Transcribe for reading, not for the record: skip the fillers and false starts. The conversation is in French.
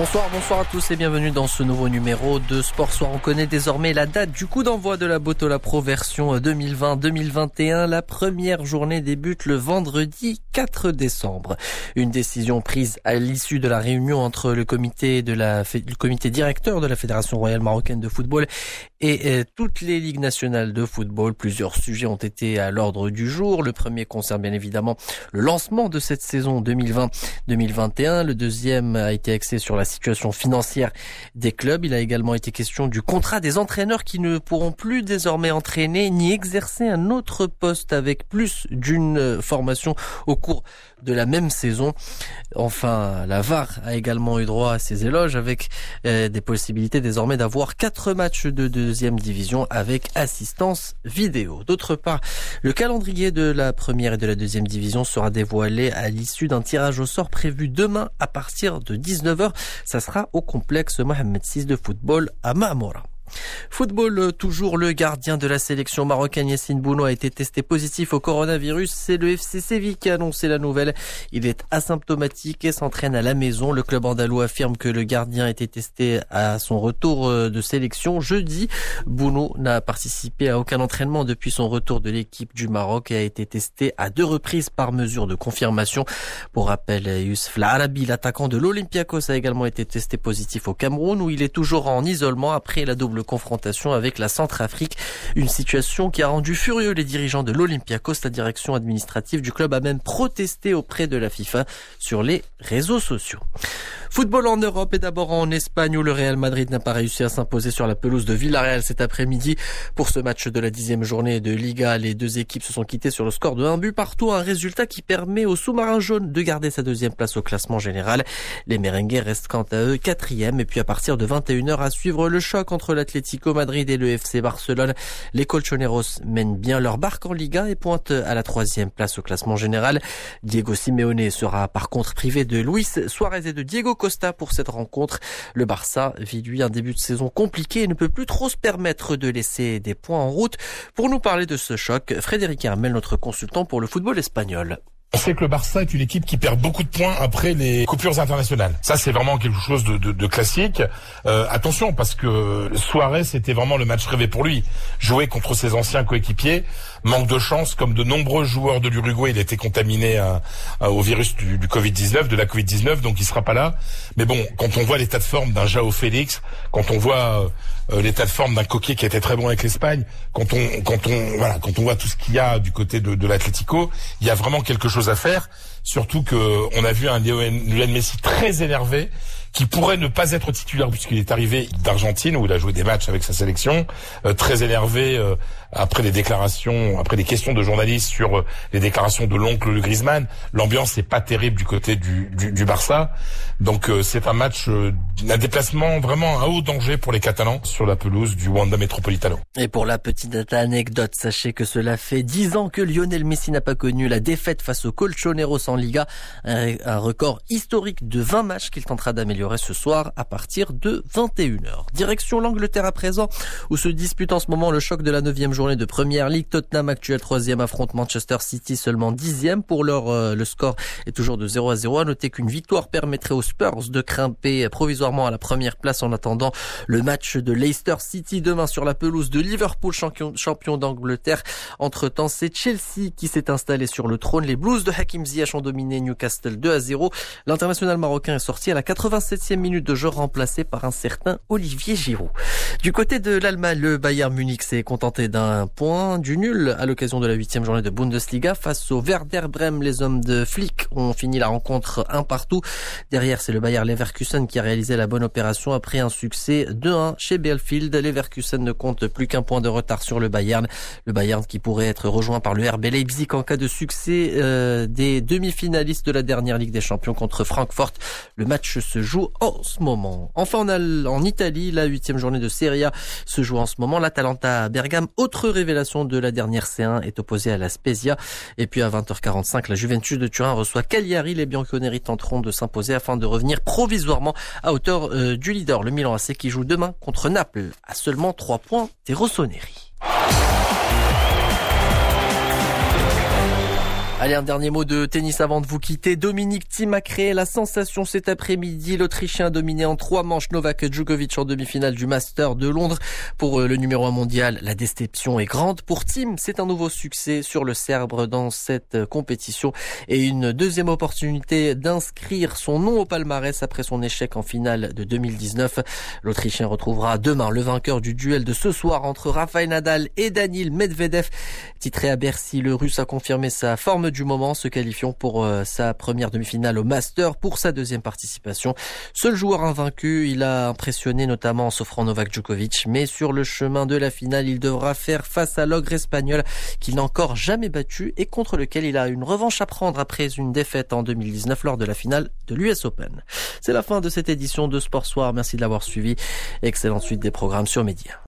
Bonsoir à tous et bienvenue dans ce nouveau numéro de Sport Soir. On connaît désormais la date du coup d'envoi de la Botola Pro version 2020-2021. La première journée débute le vendredi 4 décembre. Une décision prise à l'issue de la réunion entre le comité directeur de la Fédération royale marocaine de football et toutes les ligues nationales de football. Plusieurs sujets ont été à l'ordre du jour. Le premier concerne bien évidemment le lancement de cette saison 2020-2021. Le deuxième a été axé sur la situation financière des clubs. Il a également été question du contrat des entraîneurs qui ne pourront plus désormais entraîner ni exercer un autre poste avec plus d'une formation au cours de la même saison. Enfin, la VAR a également eu droit à ses éloges avec des possibilités désormais d'avoir 4 matchs de deuxième division avec assistance vidéo. D'autre part, le calendrier de la première et de la deuxième division sera dévoilé à l'issue d'un tirage au sort prévu demain à partir de 19h. Ça sera au complexe Mohamed VI de football à Maamora. Football, toujours le gardien de la sélection marocaine Yassine Bounou a été testé positif au coronavirus. C'est le FC Séville qui a annoncé la nouvelle. Il est asymptomatique et s'entraîne à la maison. Le club andalou affirme que le gardien a été testé à son retour de sélection jeudi. Bounou n'a participé à aucun entraînement depuis son retour de l'équipe du Maroc et a été testé à 2 reprises par mesure de confirmation. Pour rappel, Youssef L'Arabi, l'attaquant de l'Olympiakos, a également été testé positif au Cameroun où il est toujours en isolement après la double confrontation avec la Centrafrique. Une situation qui a rendu furieux les dirigeants de l'Olympiakos. La direction administrative du club a même protesté auprès de la FIFA sur les réseaux sociaux. Football en Europe et d'abord en Espagne où le Real Madrid n'a pas réussi à s'imposer sur la pelouse de Villarreal cet après-midi. Pour ce match de la 10e journée de Liga, les deux équipes se sont quittées sur le score de 1 but partout. Un résultat qui permet au sous-marin jaune de garder sa 2e place au classement général. Les merengues restent quant à eux 4e et puis à partir de 21h à suivre le choc entre l'Atlético Madrid et le FC Barcelone. Les Colchoneros mènent bien leur barque en Liga et pointent à la 3e place au classement général. Diego Simeone sera par contre privé de Luis Suarez et de Diego Costa pour cette rencontre. Le Barça vit lui un début de saison compliqué et ne peut plus trop se permettre de laisser des points en route. Pour nous parler de ce choc, Frédéric Hermel, notre consultant pour le football espagnol. On sait que le Barça est une équipe qui perd beaucoup de points après les coupures internationales. Ça, c'est vraiment quelque chose de classique. Attention, parce que Suarez, c'était vraiment le match rêvé pour lui. Jouer contre ses anciens coéquipiers, manque de chance, comme de nombreux joueurs de l'Uruguay, il a été contaminé au virus du Covid-19, de la Covid-19, donc il sera pas là. Mais bon, quand on voit l'état de forme d'un João Félix, quand on voit l'état de forme d'un Coquet qui était très bon avec l'Espagne, quand on voit tout ce qu'il y a du côté de l'Atlético, il y a vraiment quelque chose à faire. Surtout que on a vu un Lionel Messi très énervé, qui pourrait ne pas être titulaire puisqu'il est arrivé d'Argentine où il a joué des matchs avec sa sélection, très énervé après les questions de journalistes sur les déclarations de l'oncle de Griezmann. L'ambiance n'est pas terrible du côté du Barça. Donc c'est un match, un déplacement vraiment à haut danger pour les Catalans sur la pelouse du Wanda Metropolitano. Et pour la petite anecdote, sachez que cela fait 10 ans que Lionel Messi n'a pas connu la défaite face aux Colchoneros en Liga, un record historique de 20 matchs qu'il tentera d'améliorer ce soir à partir de 21h. Direction l'Angleterre à présent, où se dispute en ce moment le choc de la 9e journée de Première Ligue. Tottenham, actuel 3e, affronte Manchester City, seulement 10e. Pour l'heure, le score est toujours de 0-0. À noter qu'une victoire permettrait aux Spurs de grimper provisoirement à la première place en attendant le match de Leicester City demain sur la pelouse de Liverpool, champion d'Angleterre. Entre-temps, c'est Chelsea qui s'est installé sur le trône. Les Blues de Hakim Ziyech ont dominé Newcastle 2-0. L'international marocain est sorti à la 87e minute de jeu, remplacé par un certain Olivier Giroud. Du côté de l'Allemagne, le Bayern Munich s'est contenté d'un point, du nul à l'occasion de la 8e journée de Bundesliga face au Werder Bremen. Les hommes de Flick ont fini la rencontre 1-1. Derrière, c'est le Bayer Leverkusen qui a réalisé la bonne opération après un succès 2-1 chez Bielefeld. Leverkusen ne compte plus qu'un point de retard sur le Bayern. Le Bayern qui pourrait être rejoint par le RB Leipzig en cas de succès des demi-finalistes de la dernière Ligue des Champions contre Francfort. Le match se joue en ce moment. Enfin, en Italie, la 8e journée de Serie A se joue en ce moment. L'Atalanta Bergame, autre révélation de la dernière C1, est opposée à la Spezia. Et puis à 20h45, la Juventus de Turin reçoit Cagliari. Les Bianconeri tenteront de s'imposer afin de revenir provisoirement à hauteur du leader, le Milan AC, qui joue demain contre Naples à seulement 3 points des Rossoneri. Allez, un dernier mot de tennis avant de vous quitter. Dominic Thiem a créé la sensation cet après-midi. L'Autrichien a dominé en 3 manches Novak Djokovic en demi-finale du Master de Londres. Pour le numéro 1 mondial, la déception est grande. Pour Thiem, c'est un nouveau succès sur le Serbe dans cette compétition et une deuxième opportunité d'inscrire son nom au palmarès après son échec en finale de 2019. L'Autrichien retrouvera demain le vainqueur du duel de ce soir entre Rafael Nadal et Daniil Medvedev. Titré à Bercy, le Russe a confirmé sa forme du moment, se qualifiant pour sa première demi-finale au Master pour sa deuxième participation. Seul joueur invaincu, il a impressionné notamment en s'offrant Novak Djokovic, mais sur le chemin de la finale, il devra faire face à l'ogre espagnol qu'il n'a encore jamais battu et contre lequel il a une revanche à prendre après une défaite en 2019 lors de la finale de l'US Open. C'est la fin de cette édition de Sport Soir. Merci de l'avoir suivi. Excellente suite des programmes sur Média.